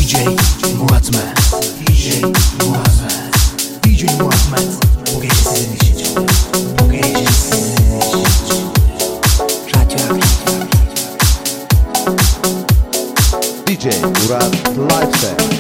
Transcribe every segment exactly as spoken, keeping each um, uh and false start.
D J Muratmet, D J Muratmet, D J Muratmet. Bu gece sizin için, bu gece sizin için. Radyoaktif D J Murat Lifestyle.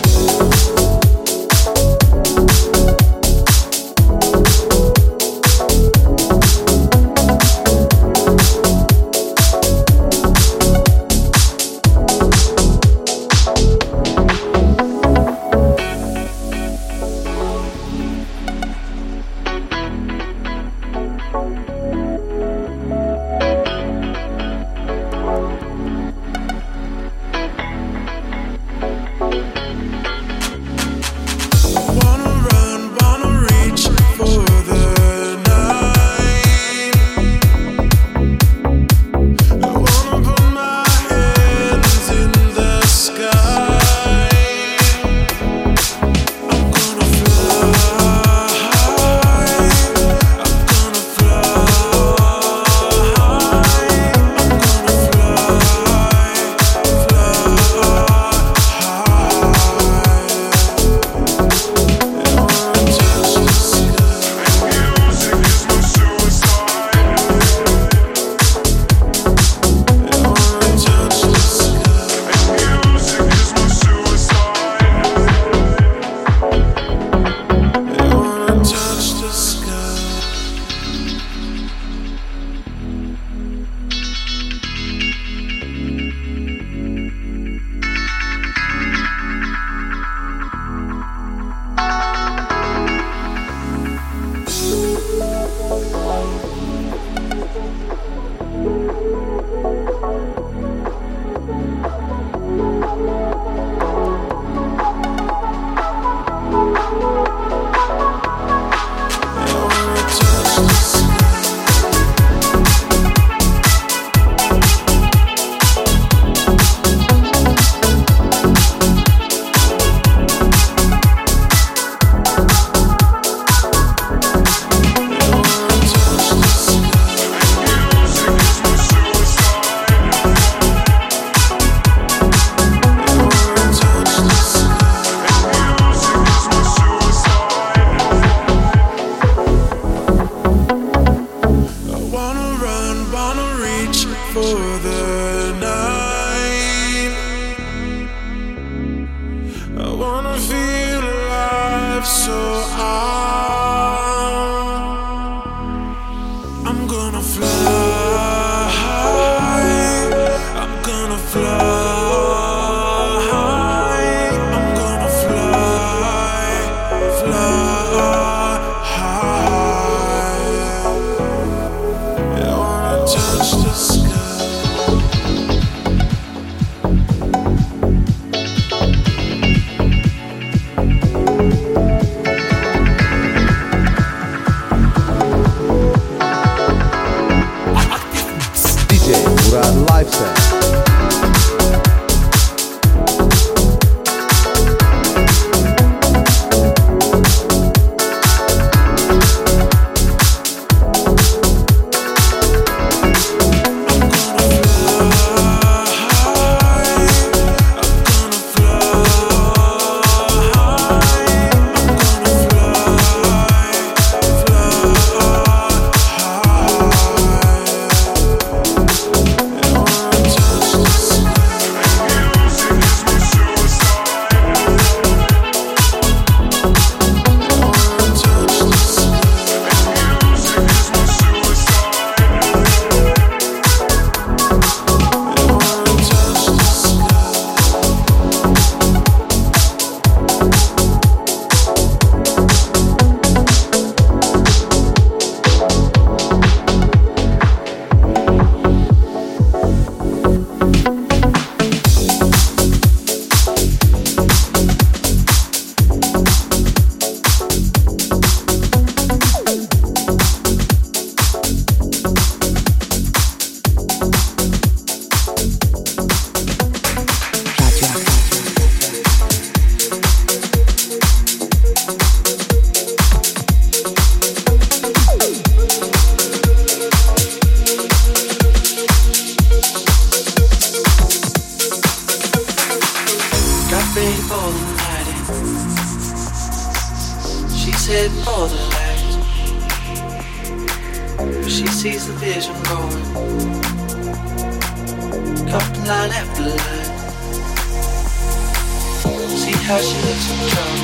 ready for the night in. She's heading for the light, but she sees the vision going, couple line after line. See how she looks in trouble,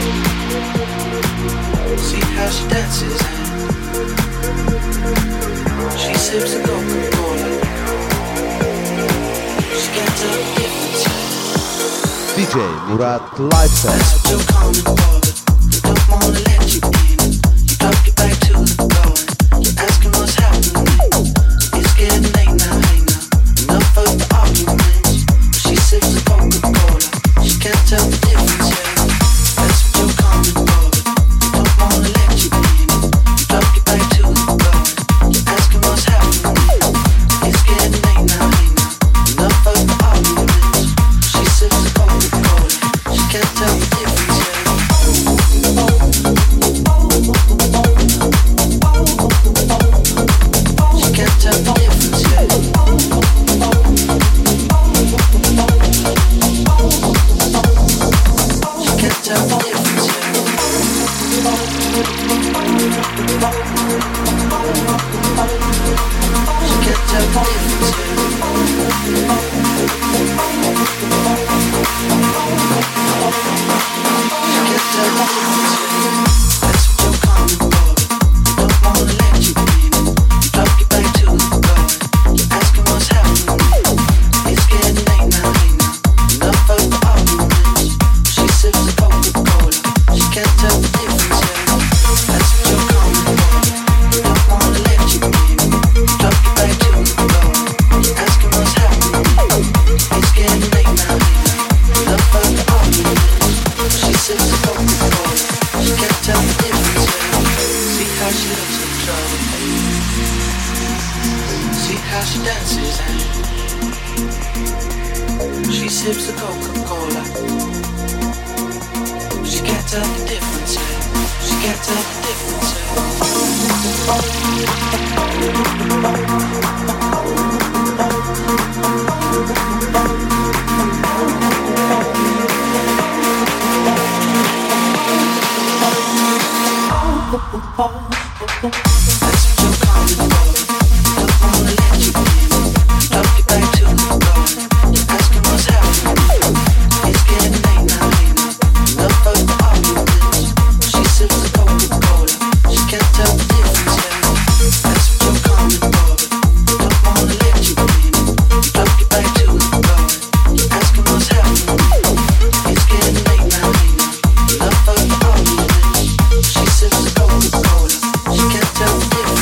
see how she dances and she sips the Coca-Cola. She can't tell the difference. D J Murat Live Set. That's what you're coming for, but they don't wanna let you in. You drop your back to the floor and you're asking what's happening. It's getting late now, hey now, enough of the arguments. But she sips the Coca-Cola, she can't tell the difference. Yeah. That's what you're coming for, but they don't wanna let you in. You drop your back to the floor and you're asking what's happening. It's getting late now, hey now, enough of the arguments. She sips the Coca-Cola, she can't tell the difference. Yeah. She can't tell the difference. Yeah. She can't tell the difference. Yeah. She can't tell the difference. She can't tell the difference. That's what you're coming for, but they don't wanna let you in. You drop your back to the floor, you're asking what's happening. It's getting late now, hey now, enough of the arguments. She sips the Coca-Cola, she can't tell the difference. That's what you're coming for, they don't wanna let you in. You drop your back to the floor, you're asking what's happening. It's getting late now, hey now, enough of the arguments. She sips the Coca-Cola, she can't tell the difference. See how she looks in trouble, see how she dances and she sips the Coca-Cola. She can't tell the difference. She can't tell the difference. That's what you're coming for, don't wanna let you in. Drop your back to the floor, you're asking what's happening. It's getting late now, hey now, enough of the arguments. She sips the Coca-Cola, she can't tell the difference. That's what you're coming for, but they don't wanna let you in. You drop your back to the floor, you're asking what's happening. It's getting late now, hey now, enough of the arguments. She sips the Coca-Cola, she can't tell the difference.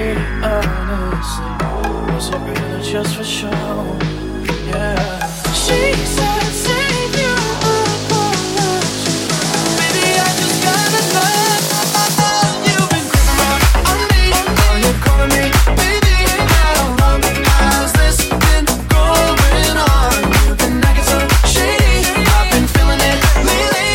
honestly, was it really just for show? Yeah. She said, save you apology. Baby, I just gotta know you've been creeping around on me. Are you calling me baby? How long has this been going on? You've been acting so shady. I've been feeling it lately.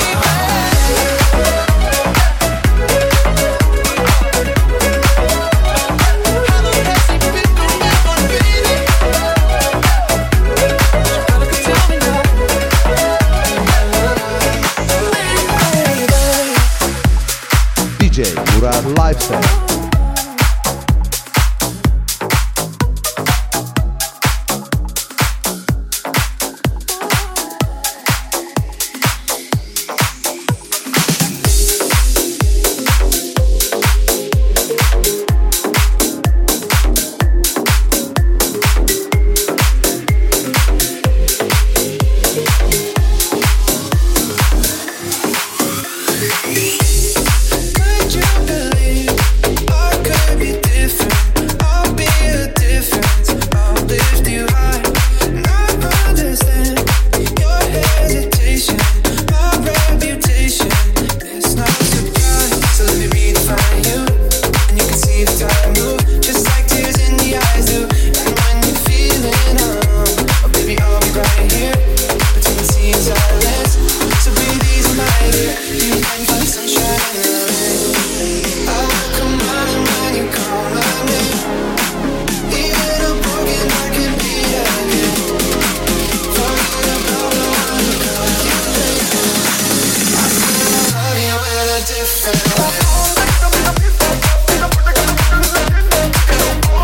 D J Murat Lifestyle. Could you believe I could be different? I'll be a difference. I'll lift you high. And I understand your hesitation, my reputation. It's not a surprise. So let me redefine you, and you can see the time move, just like tears in the eyes do. And when you're feeling alone, oh baby, I'll be right here between the sea and silence. So breathe easy, my dear. You can find sunshine in the rain. I will come running when you call my name. Even I'm broken, I can be again. Forget about the one who cut you down. I still love you in a different way.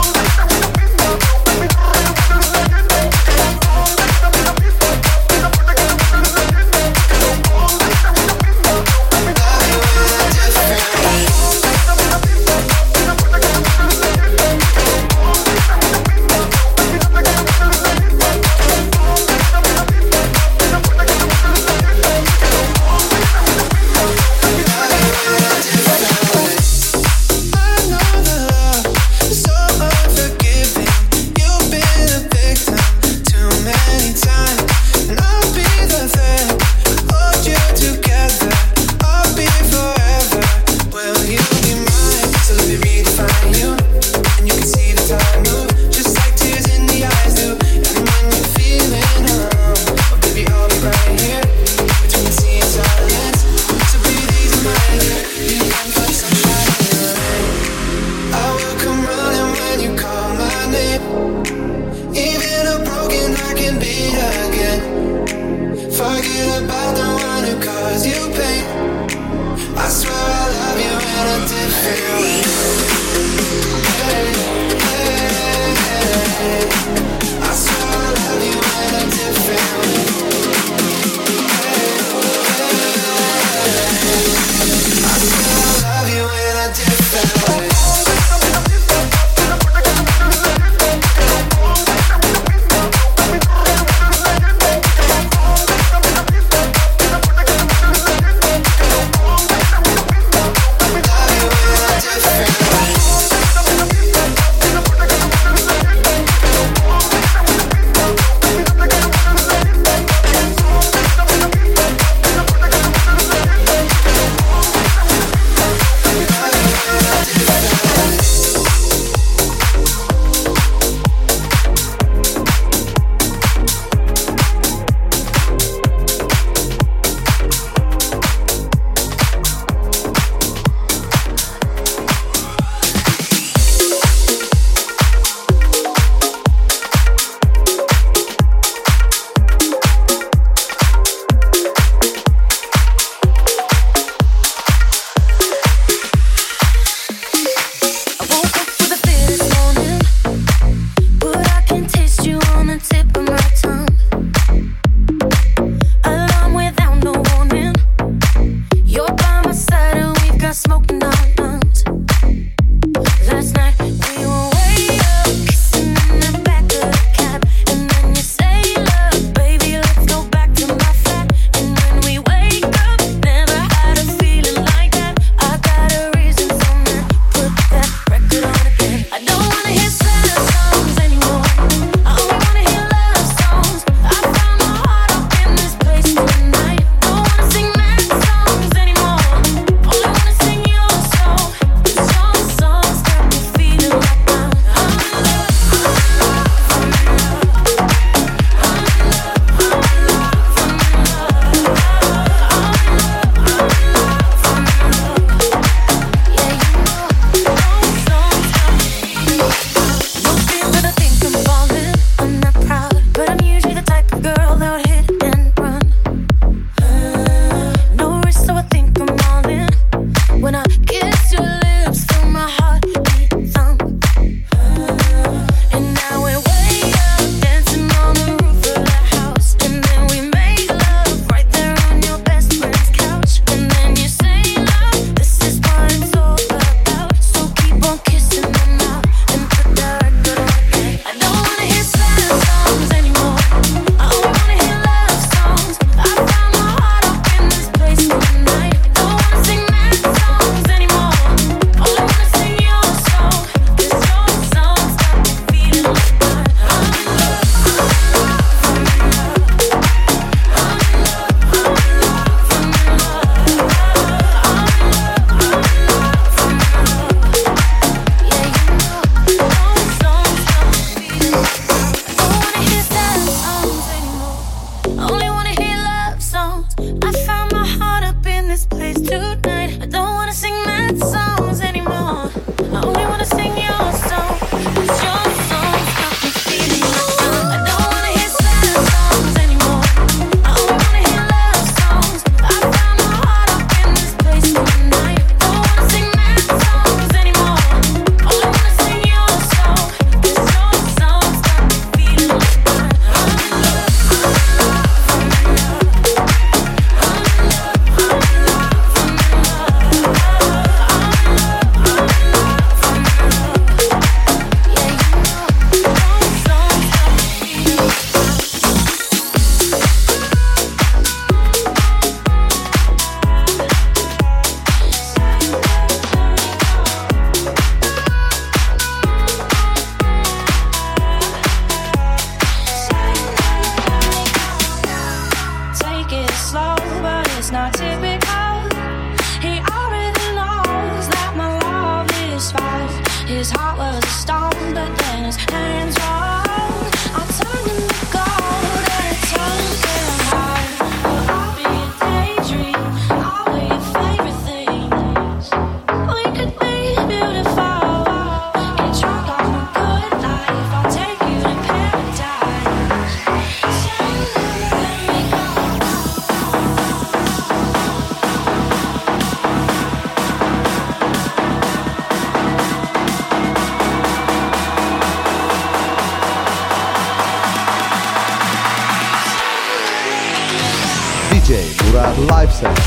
Lifestyle.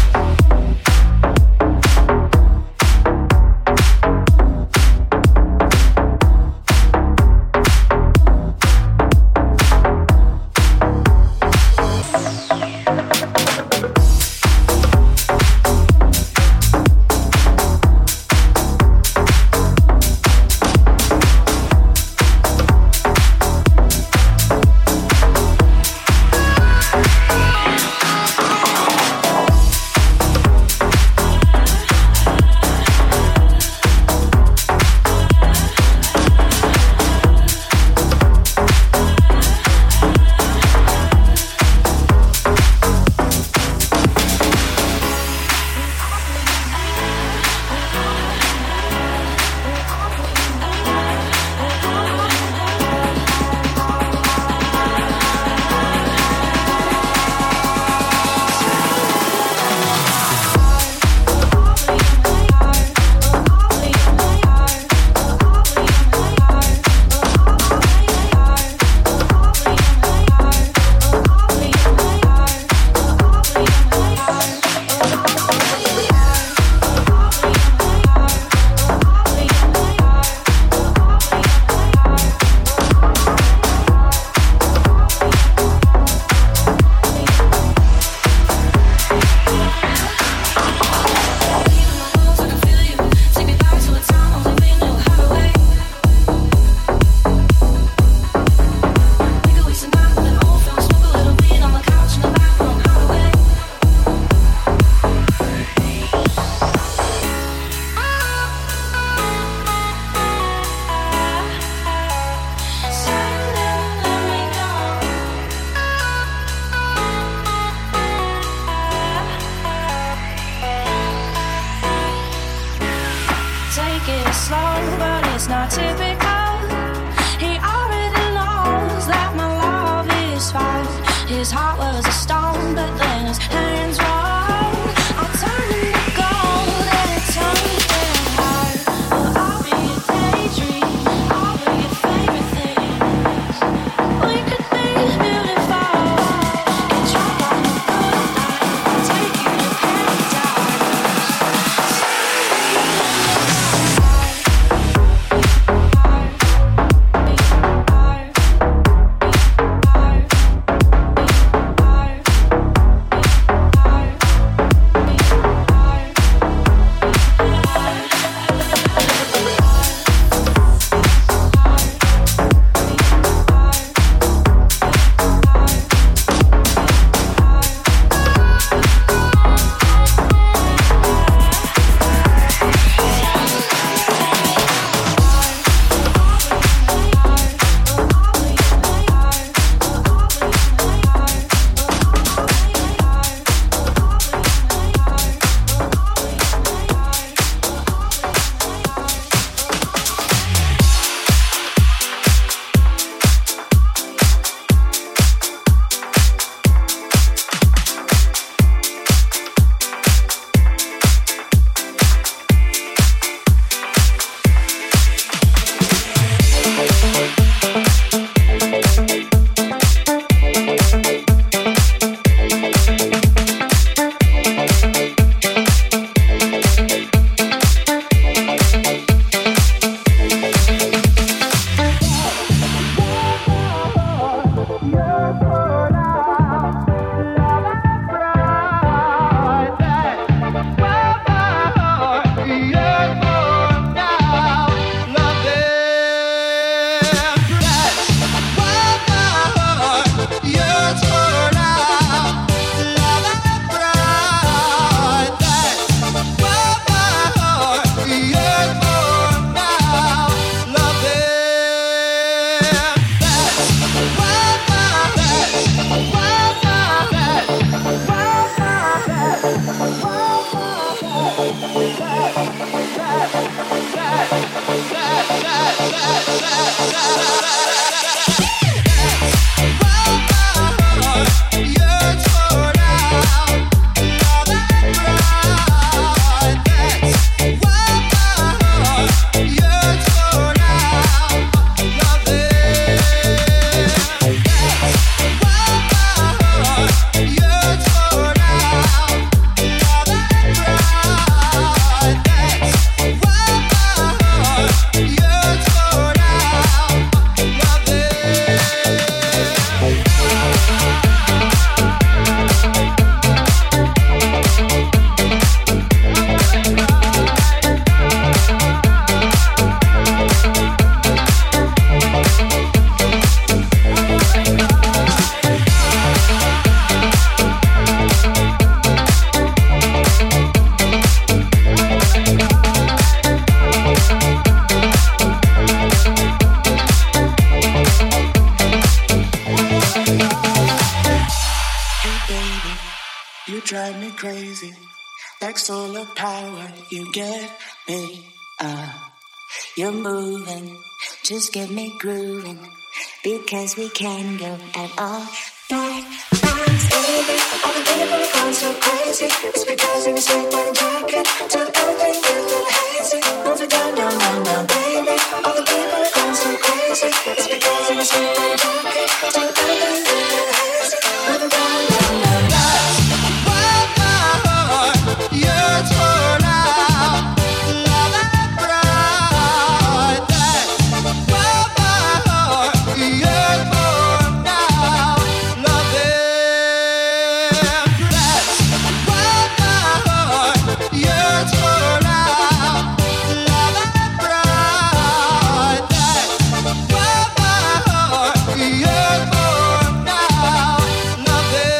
drive me crazy. Like solar power, you get me. Uh, you're moving, just get me grooving. Because we can go at all night. Baby, all the people are going so crazy. It's because of your sweet white jacket. Till everything gets a little hazy. Move it down, down, down, down, baby. All the people are going so crazy. It's because of your sweet white jacket. Till everything gets a little hazy. Move it down, down, down, down. Wild my heart, yearns for now. Love and pride. Wild my heart, yearns for now. Love and pride. Wild my heart, yearns for now. Love and pride. Wild my heart, yearns for now. Love and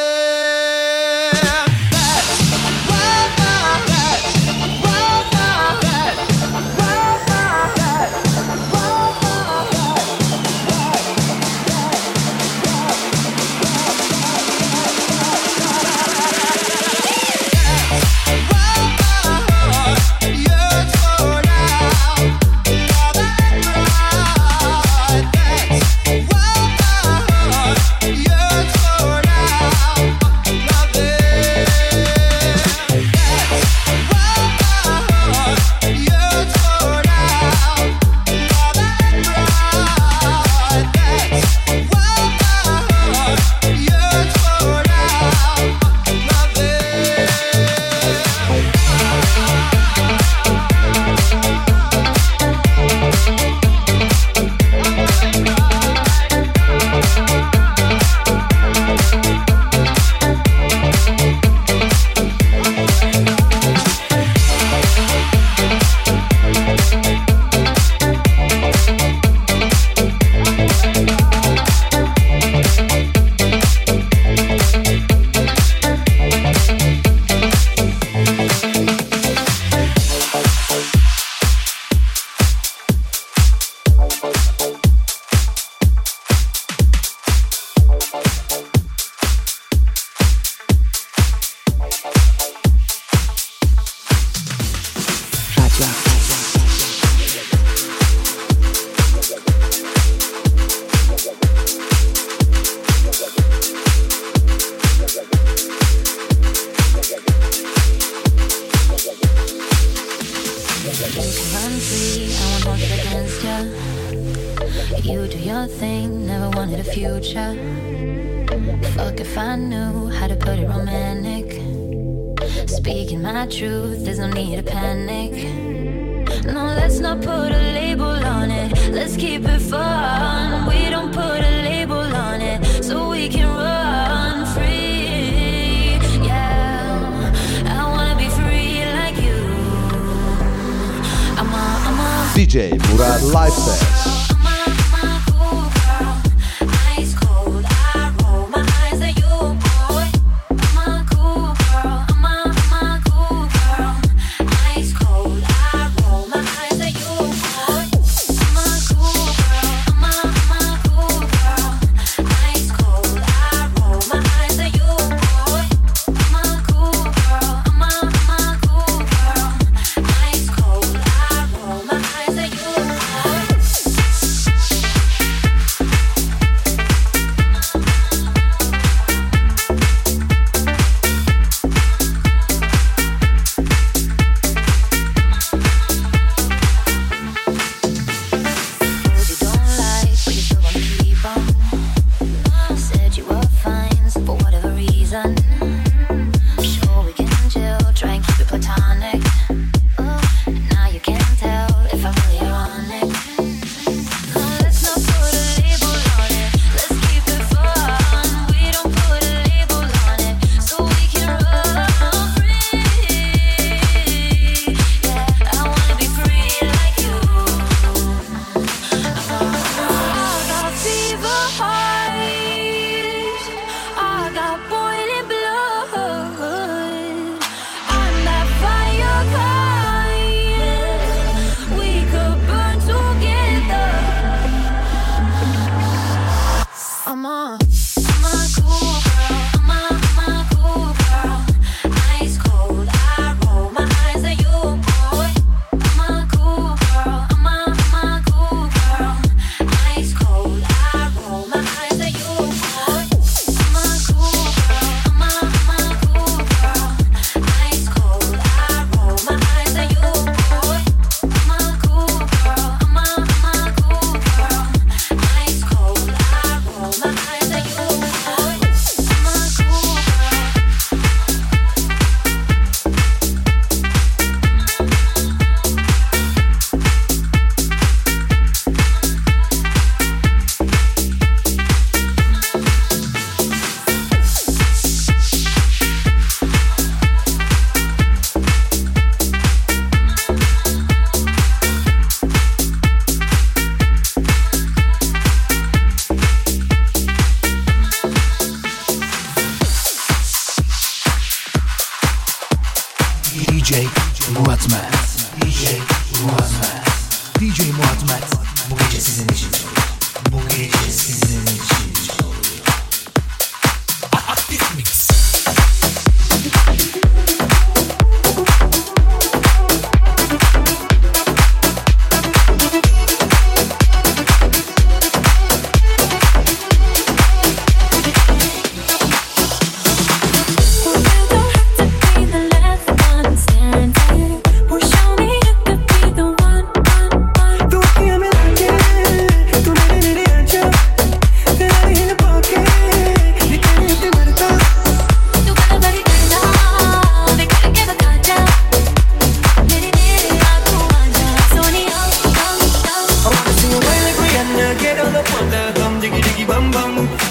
You do your thing, never wanted a future. Fuck if I knew how to put it romantic. Speaking my truth, there's no need to panic. No, let's not put a label on it. Let's keep it fun. We don't put a label on it, so we can run free. Yeah, I wanna be free like you. I'm a, I'm a D J Murad Live Set.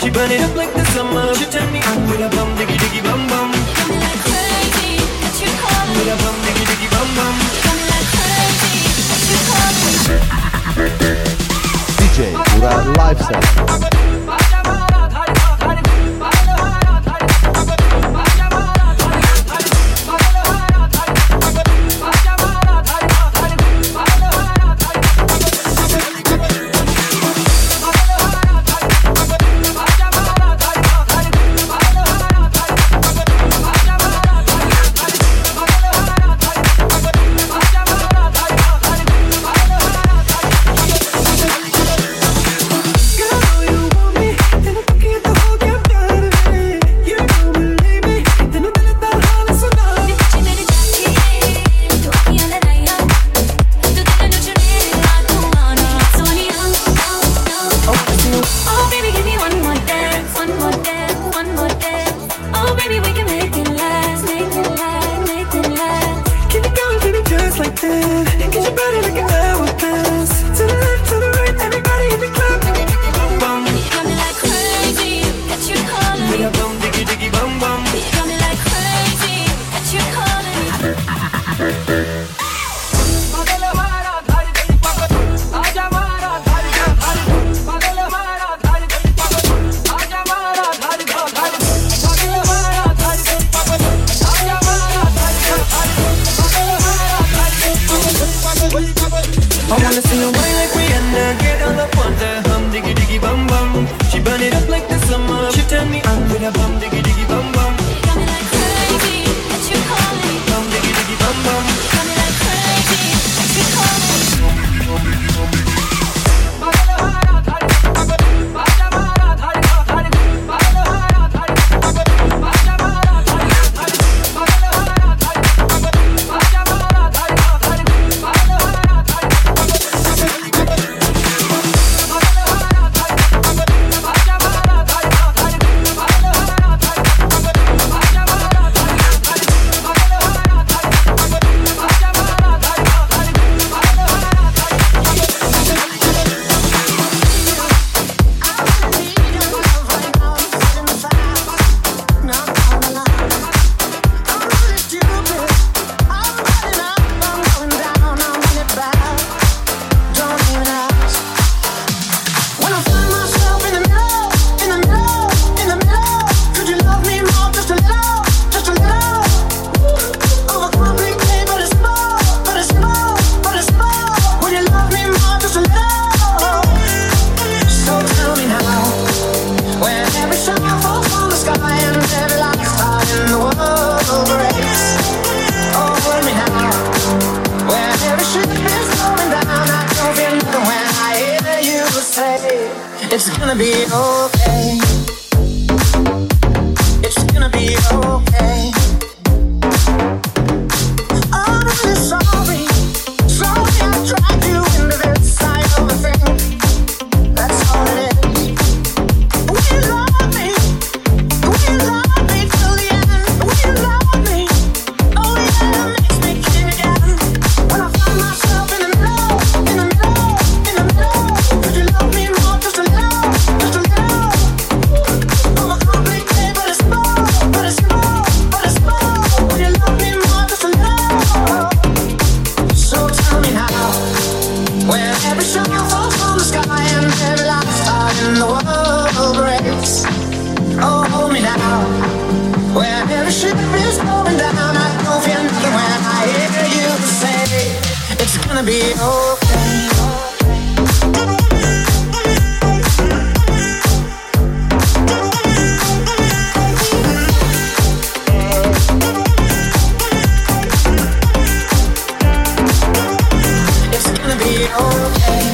She burn it up like the summer. She turn me on with a bum diggy diggy bum bum. You got me like crazy, that you call me. With a bum diggy diggy bum bum. You got me like crazy, that you call me. D J Murat Live Session. It's gonna be okay. It's gonna be okay. I'm really sorry. Sorry I dragged you into this side of a thing. That's all it is. Will you love me? Will you love me till the end? Will you love me? Oh yeah, it makes me king again. When I find myself in the middle, in the middle, in the middle. Could you love me more? Just a little, just a little. Overcomplicate, but it's more, but it's more, but it's more. Will you love me more? Just a little. So tell me how. When every star falls from the sky and every last star in the world breaks. Oh, hold me now. When every ship is going down, I don't feel nothing when I hear you say it's gonna be okay. It's gonna be okay.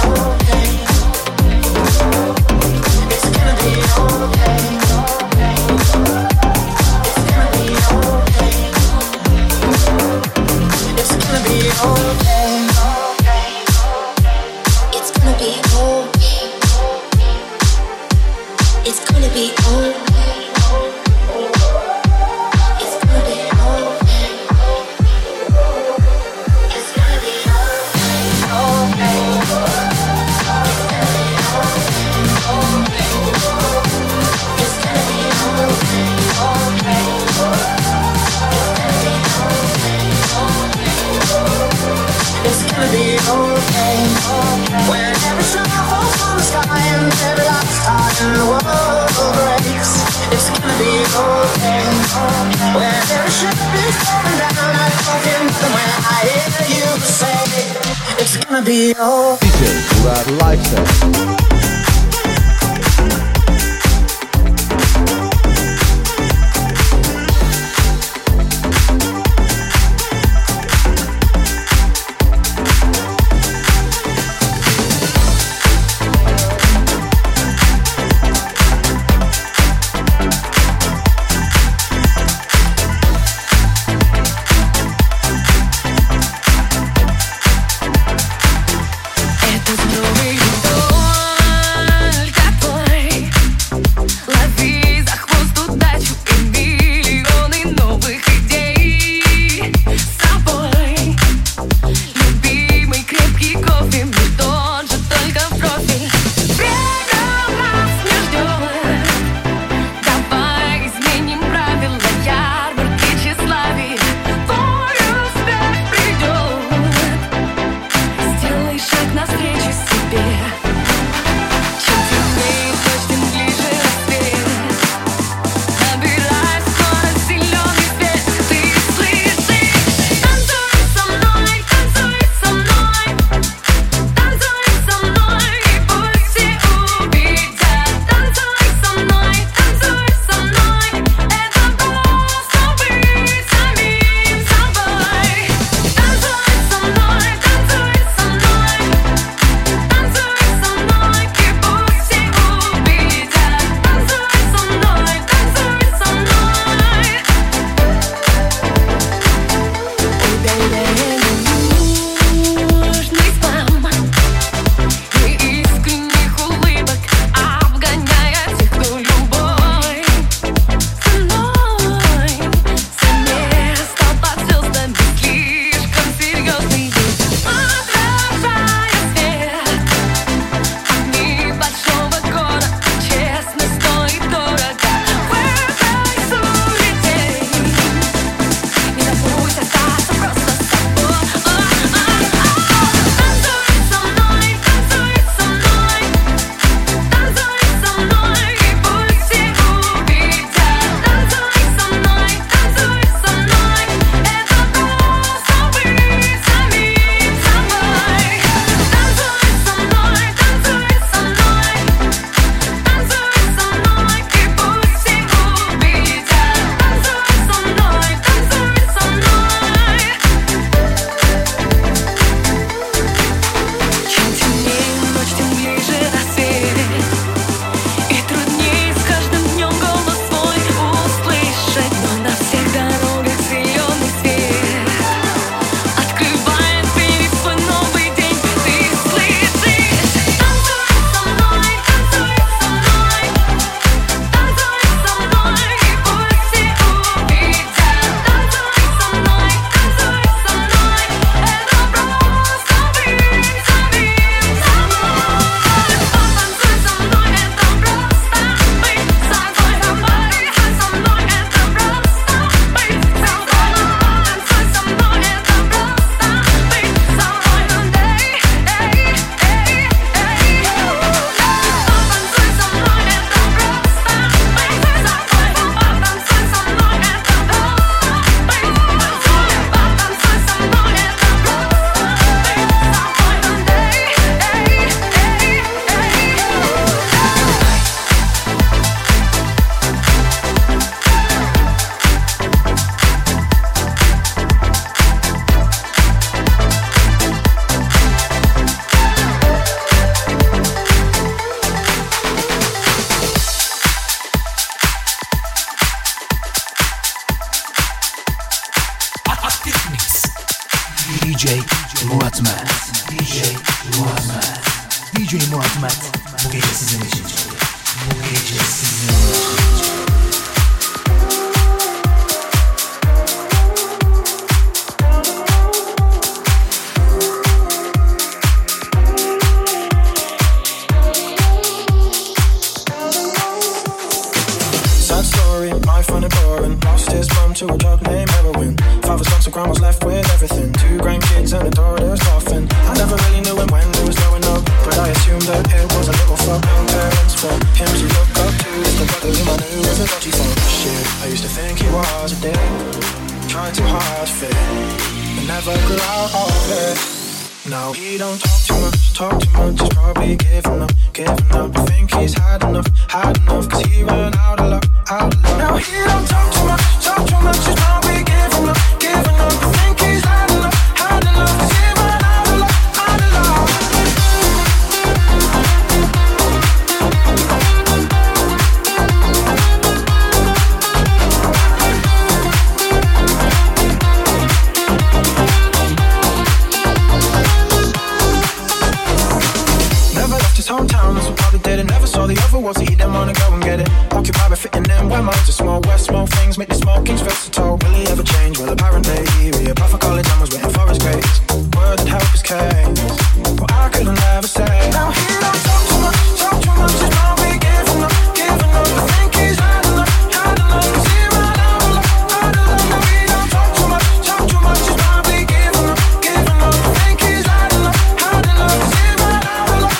It's gonna be okay. It's gonna be okay. okay. When every star falls from the sky and every last heart in the world breaks, it's gonna be okay. When every ship is going down, I fucking know when I hear you say, it's gonna be okay. D J Murat Lifestyle. D J Murat Mert, D J Murat Mert, D J Murat Mert bu gece sizin için, bu gece sizin için. I find it boring. Lost his mum to a drug named heroin. Father's gone, so grandma's left with everything. Two grandkids and a daughter's coffin. I never really knew him when vocal out of it. Now he don't talk too much, talk too much. He's probably giving up, giving up. I think he's had enough, had enough. Cause he ran out of luck, out of luck. Now he don't talk too much, talk too much. He's probably giving up, giving up. I think he's had enough, had enough. Cause he ran out of luck, out of luck. Hometown, that's what probably did it. Never saw the other world, so he didn't wanna go and get it. Occupied by fitting in where minds are small. West small things make the small kings versatile. Will he ever change? Well, apparently he applied for college and was waiting for his grades. Word that help his case. Well, I couldn't never say. Now he don't talk too much, talk too much. He's probably giving up, giving up. I think he's had enough, had enough. Cause he ran out of luck, out of luck. Now he don't talk too much, talk too much. He's probably giving up, giving up. I think he's had enough, had enough. Cause he ran out of luck.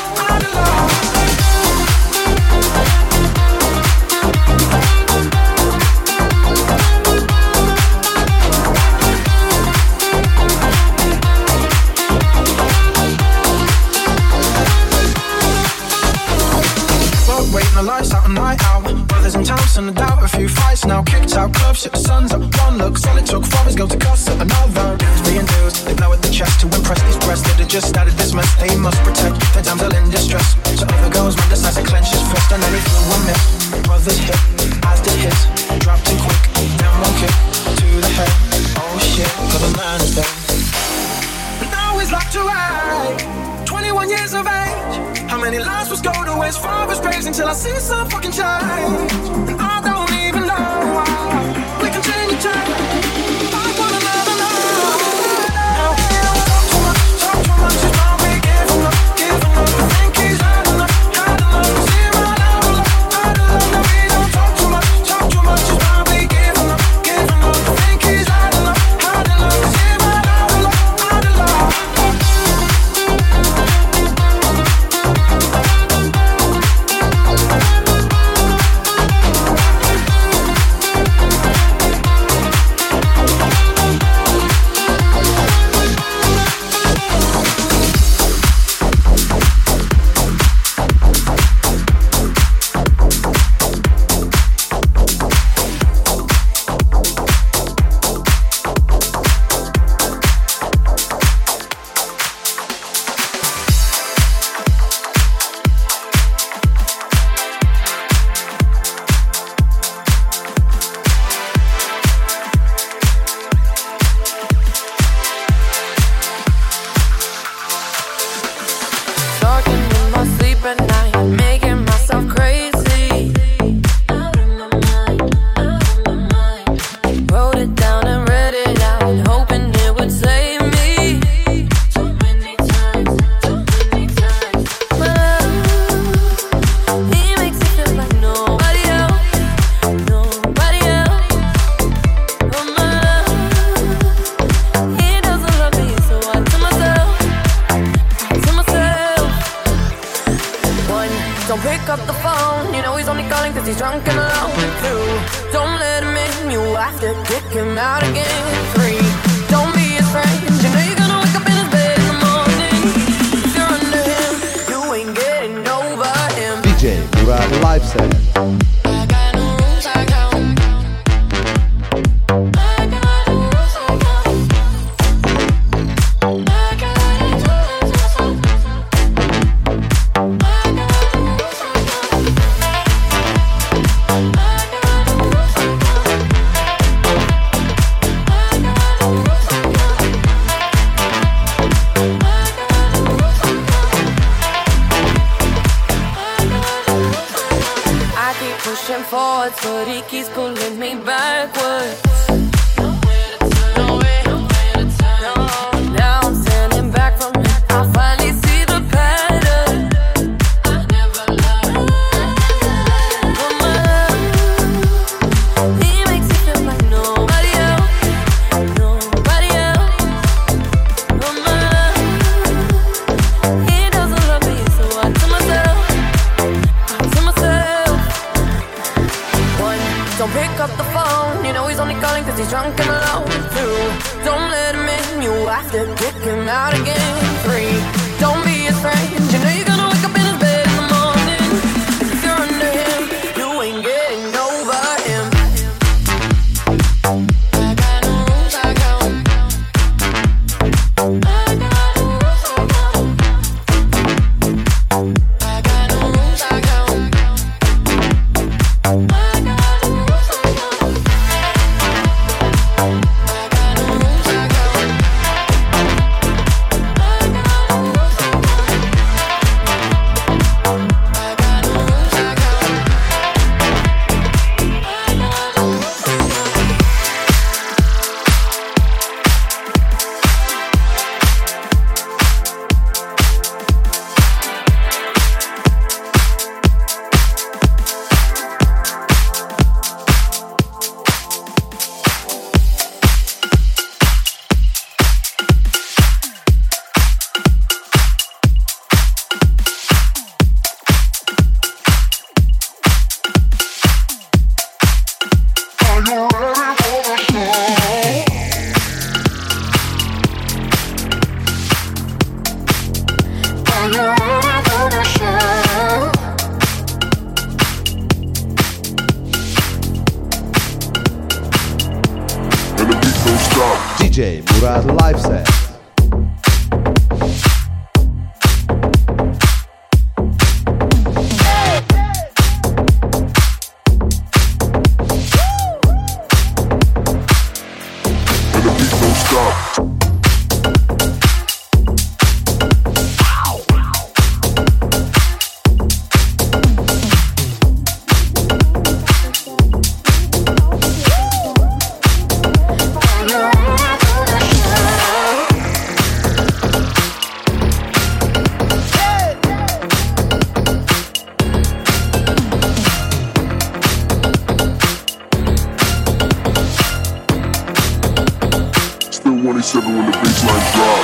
The lights out and night out. Brothers in town, and a doubt. A few fights now kicked out. Club shit, the sun's up. One look, solid took. Fathers go to cuss at another. Dudes being dudes, they blow at the chest to impress these breasts. They just started this mess. They must protect their damsel in distress. So other goes man decides to clench his fist, and then he flew one miss. Brothers hit, as did his. Dropped in quick, then one kick to the head. Oh shit, cause the man is dead. But now he's locked away. twenty-one years of age. How many lives was go to waste? Father's praise until I see some fucking change. And I don't even know why we continue to change. I wanna never know. Now he don't talk too much, talk too much. He's probably giving up, giving up. I think he's had enough, had enough. Cause he ran out of luck, out of luck. Now he don't talk too much, talk too much. He's probably giving up, giving up. I think he's had enough, had enough. Cause he ran out of luck, out of luck. But he keeps pulling me backwards. Now I'm standing back from it. I finally see the pattern. I never loved but my love, he makes it feel like nobody else, nobody else. But my love, he doesn't love me, so I tell myself, I tell myself. Don't pick up the phone, you know he's only calling to kick him out again. Three, don't be a strange. You know you're gonna wake up in his bed in the morning. If you're under him, you ain't getting over him. I got no rules, I got I got no rules, I got I got no rules, I got I got no rules, I got D J Murat Live Set. twenty-seven when the baseline drop.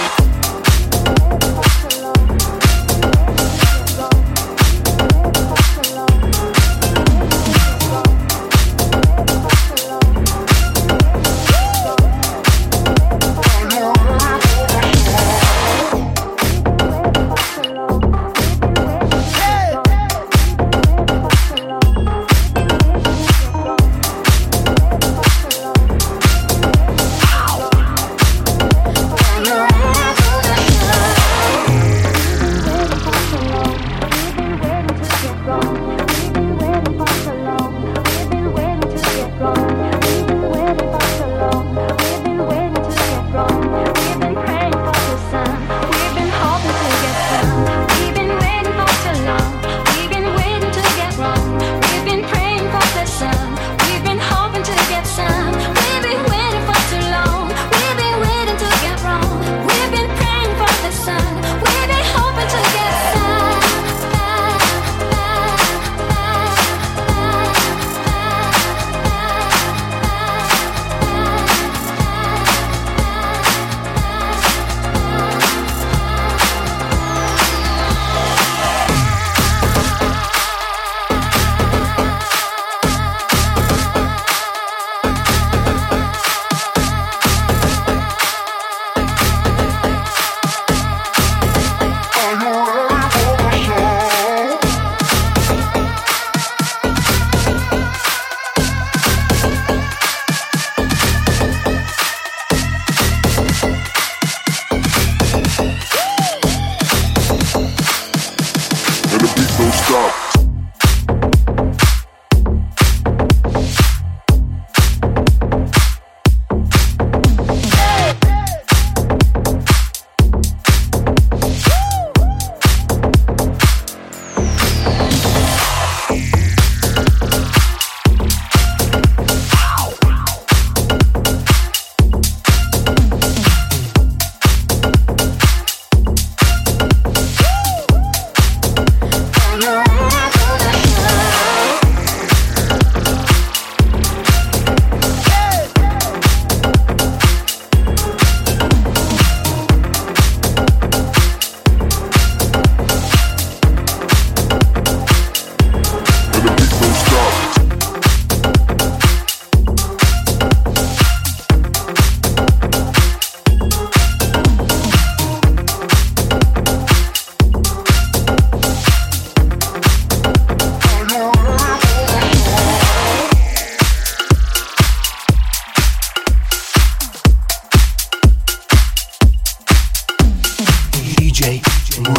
You're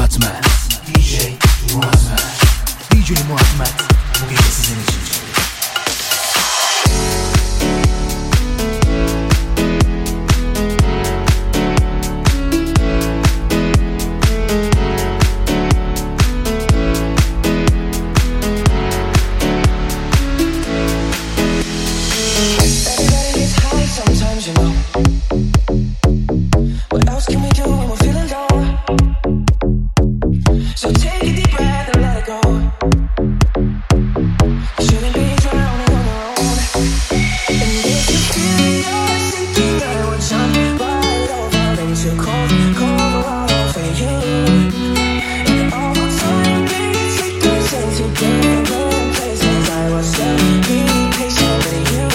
Muratmat, D J Muratmat, D J Muratmat bu gece sizin için. Sometimes you know. What else can we do when we're feeling low? So take a deep breath and let it go. You shouldn't be drowning on your own. And if you feel you're sinking, I will jump right over into cold, cold water for you. And all the time we take us into different places, I will still be patient with you.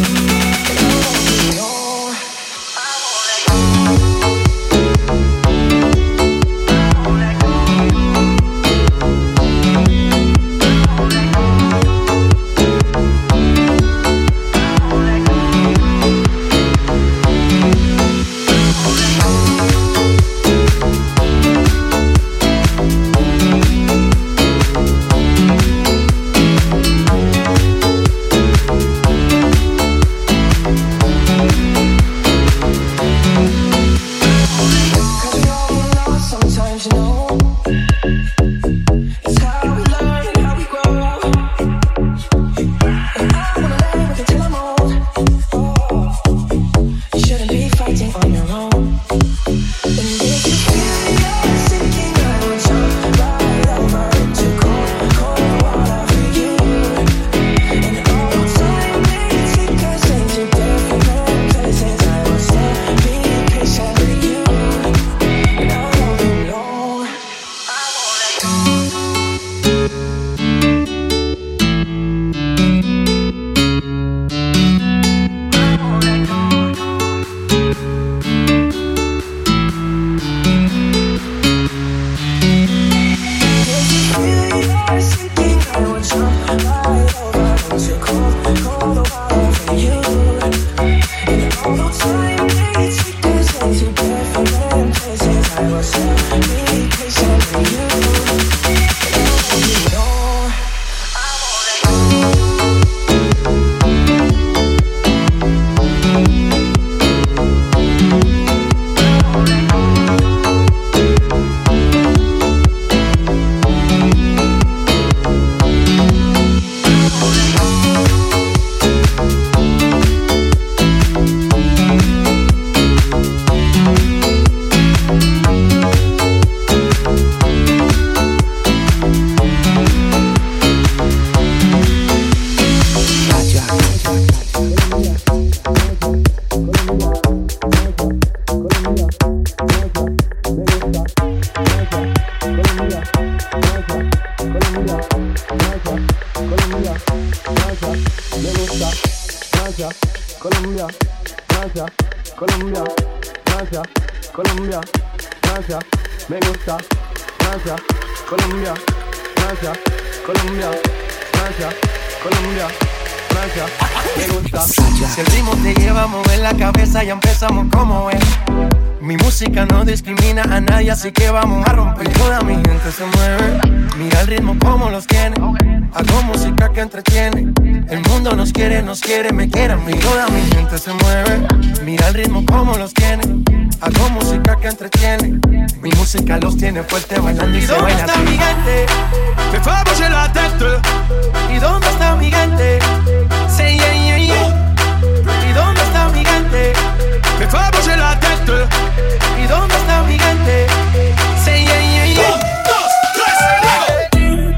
Si el ritmo te lleva a mover la cabeza, ya empezamos como es. Mi música no discrimina a nadie, así que vamos a romper. Toda mi gente se mueve, mira el ritmo como los tiene. Hago música que entretiene. El mundo nos quiere, nos quiere, me quiere a mí. Toda mi gente se mueve, mira el ritmo como los tiene. Hago música que entretiene. Mi música los tiene fuerte bailando y, ¿y se baila. ¿Y dónde está mi gente? Me fais bouger la tête. ¿Y dónde está mi gente? Say yeah, yeah, yeah. ¿Y dónde está mi gente? Me fais bouger la tête. ¿Y dónde está mi gente? Say yeah, yeah, yeah. Un, dos, tres,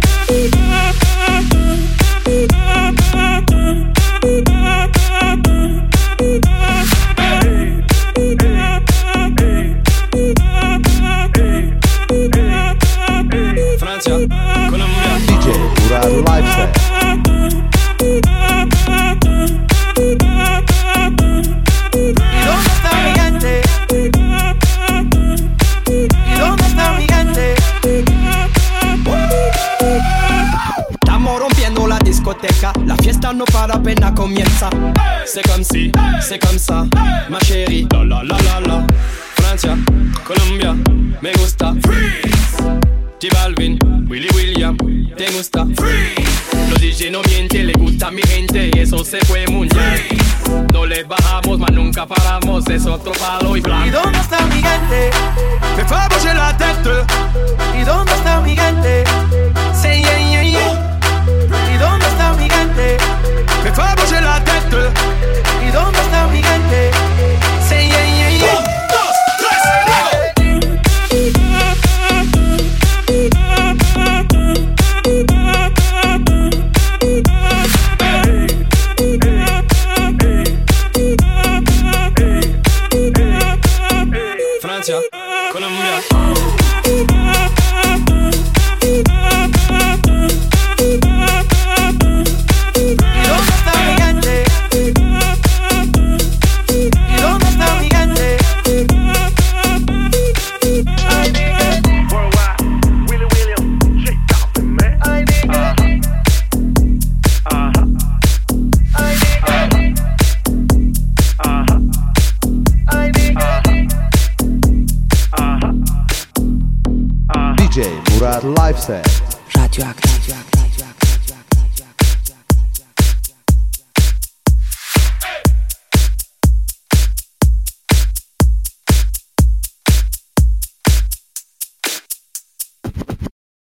Francia, Colombia. D J Murat Lifestyle. ¿Y dónde está mi gente? ¿Y dónde está mi gente? Estamos rompiendo la discoteca, la fiesta no para apenas comienza. C'est comme si, c'est comme ça, ma chérie. La la la la la. Francia, Colombia, me gusta. Freeze. te gusta. Los D J no mienten, le gusta a mi gente y eso se fue muy bien. No le bajamos, mas nunca paramos, es otro palo y blanco. ¿Y dónde está mi gente? Me fais bouger la tête. ¿Y dónde está mi gente? Say yeah, yeah, yeah. ¿Y dónde está mi gente? Me fais bouger la tête. ¿Y dónde está mi gente? Say yeah, yeah, yeah. Un, dos, tres, Francia, Colombia. ¿Y dónde está mi gente? ¿Y dónde está mi gente? Worldwide, Willie Williams, shake off the man. Uh-huh. Uh-huh. Uh-huh. D J Murat Live Set. Radioactive.